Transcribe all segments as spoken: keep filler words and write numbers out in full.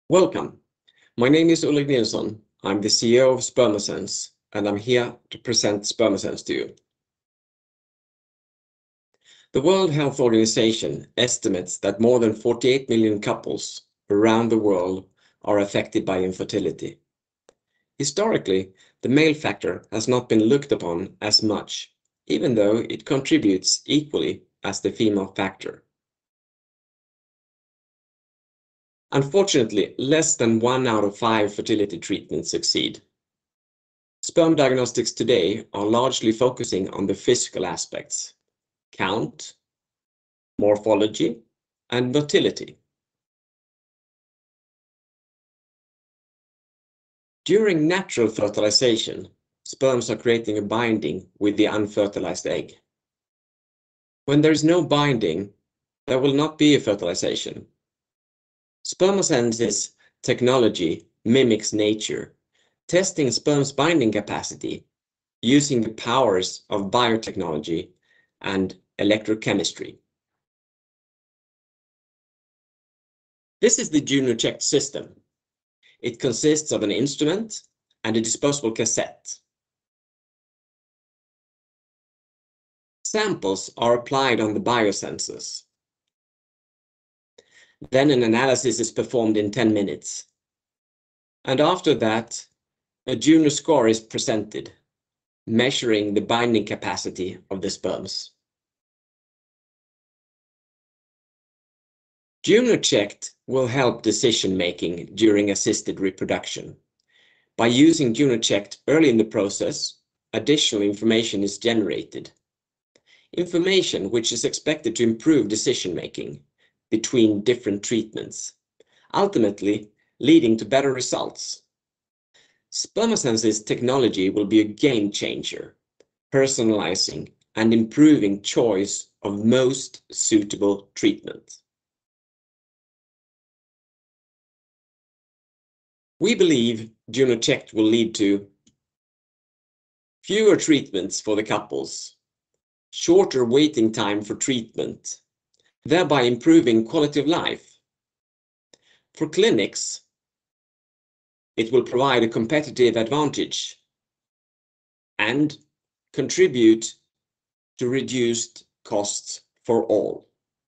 Welcome. My name is Ulrik Nilsson. I'm the C E O of Spermasense, and I'm here to present Spermasense to you. The World Health Organization estimates that more than forty-eight million couples around the world are affected by infertility. Historically, the male factor has not been looked upon as much, even though it contributes equally as the female factor. Unfortunately, less than one out of five fertility treatments succeed. Sperm diagnostics today are largely focusing on the physical aspects: count, morphology, and motility. During natural fertilization, sperms are creating a binding with the unfertilized egg. When there is no binding, there will not be a fertilization. Spermasense's technology mimics nature, testing sperm's binding capacity using the powers of biotechnology and electrochemistry. This is the JUNO-Check system. It consists of an instrument and a disposable cassette. Samples are applied on the biosensors. Then an analysis is performed in ten minutes. And after that, a JUNO score is presented, measuring the binding capacity of the sperms. JUNO-Check will help decision-making during assisted reproduction. By using JUNO-Check early in the process, additional information is generated. Information which is expected to improve decision-making between different treatments, ultimately leading to better results. Spermasense's technology will be a game changer, personalizing and improving choice of most suitable treatment. We believe JUNO-Check will lead to fewer treatments for the couples, shorter waiting time for treatment, thereby improving quality of life. For clinics, it will provide a competitive advantage and contribute to reduced costs for all.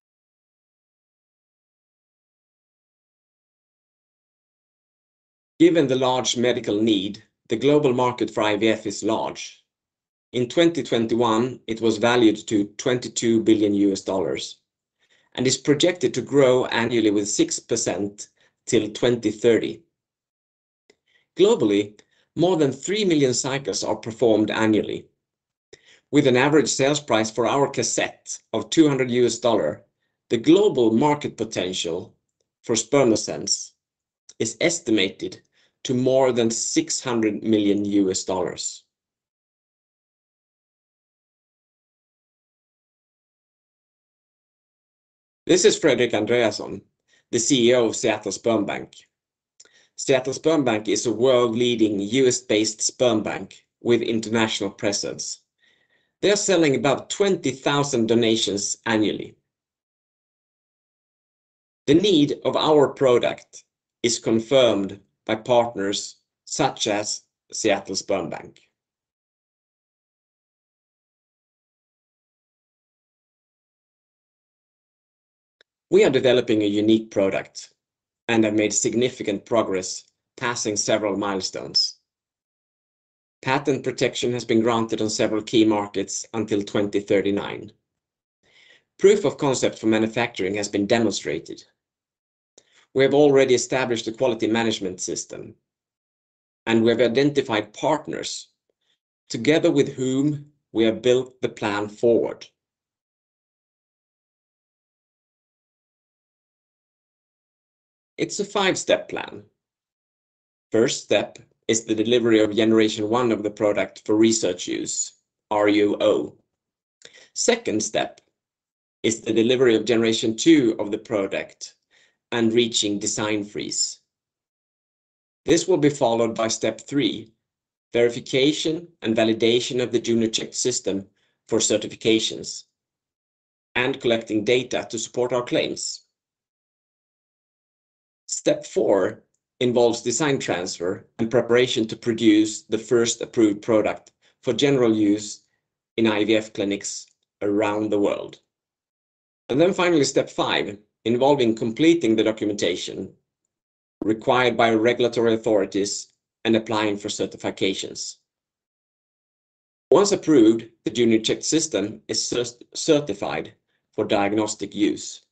Given the large medical need, the global market for I V F is large. In twenty twenty-one, it was valued to twenty-two billion U S dollars and is projected to grow annually with six percent till twenty thirty. Globally, more than three million cycles are performed annually. With an average sales price for our cassette of two hundred U S dollars, the global market potential for Spermasense is estimated to more than six hundred million U S dollars. This is Fredrik Andreasson, the C E O of Seattle Sperm Bank. Seattle Sperm Bank is a world-leading U S-based sperm bank with international presence. They are selling about twenty thousand donations annually. The need of our product is confirmed by partners such as Seattle Sperm Bank. We are developing a unique product and have made significant progress, passing several milestones. Patent protection has been granted on several key markets until twenty thirty-nine. Proof of concept for manufacturing has been demonstrated. We have already established a quality management system, and we have identified partners together with whom we have built the plan forward. It's a five-step plan. First step is the delivery of generation one of the product for research use, R U O. Second step is the delivery of generation two of the product and reaching design freeze. This will be followed by step three, verification and validation of the JUNO-Check system for certifications and collecting data to support our claims. Step four involves design transfer and preparation to produce the first approved product for general use in I V F clinics around the world. And then finally, step five, involving completing the documentation required by regulatory authorities and applying for certifications. Once approved, the JUNO-Checked system is cert- certified for diagnostic use.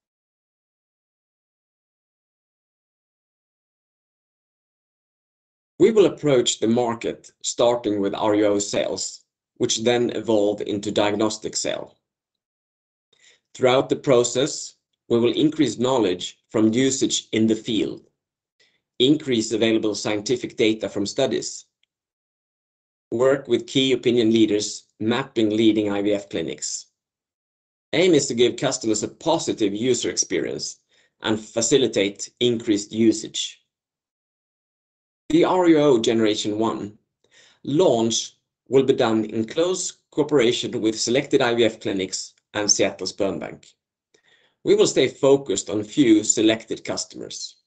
We will approach the market starting with R U O sales, which then evolve into diagnostic sale. Throughout the process, we will increase knowledge from usage in the field, increase available scientific data from studies, work with key opinion leaders mapping leading I V F clinics. Aim is to give customers a positive user experience and facilitate increased usage. The R U O Generation one launch will be done in close cooperation with selected I V F clinics and Seattle Sperm Bank. We will stay focused on few selected customers.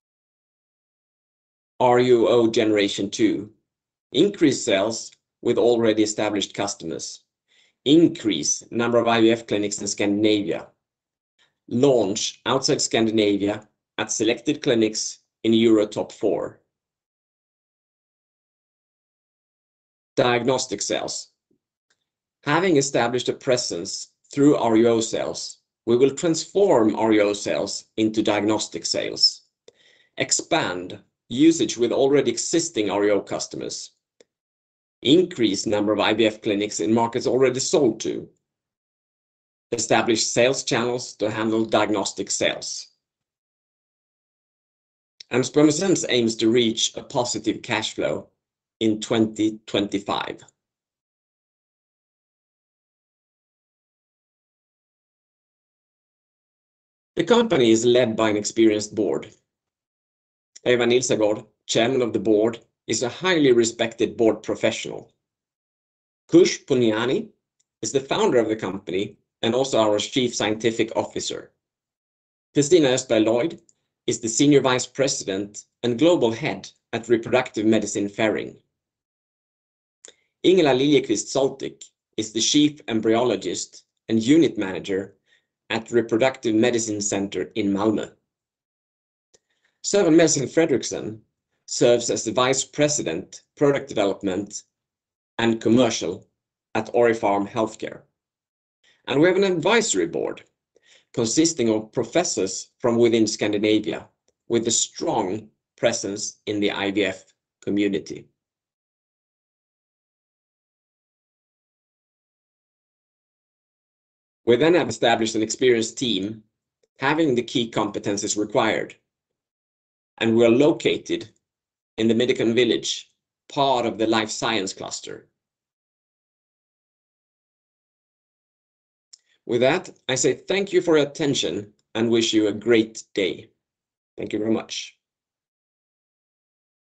R U O Generation two, increase sales with already established customers, increase number of I V F clinics in Scandinavia, launch outside Scandinavia at selected clinics in Euro Top four. Diagnostic sales. Having established a presence through R U O sales, we will transform R U O sales into diagnostic sales, expand usage with already existing R U O customers, increase number of I V F clinics in markets already sold to, establish sales channels to handle diagnostic sales. And Spermosense aims to reach a positive cash flow in twenty twenty-five. The company is led by an experienced board. Eva Nilsegård, chairman of the board, is a highly respected board professional. Kush Punyani is the founder of the company and also our chief scientific officer. Kristina Östberg Lloyd is the senior vice president and global head at Reproductive Medicine Ferring. Ingela Liljeqvist Soltik is the chief embryologist and unit manager at Reproductive Medicine Center in Malmö. Søren Melsing Fredriksson serves as the vice president, product development and commercial at Orifarm Healthcare. And we have an advisory board consisting of professors from within Scandinavia with a strong presence in the I V F community. We then have established an experienced team having the key competences required. And we are located in the Medicon Village, part of the life science cluster. With that, I say thank you for your attention and wish you a great day. Thank you very much.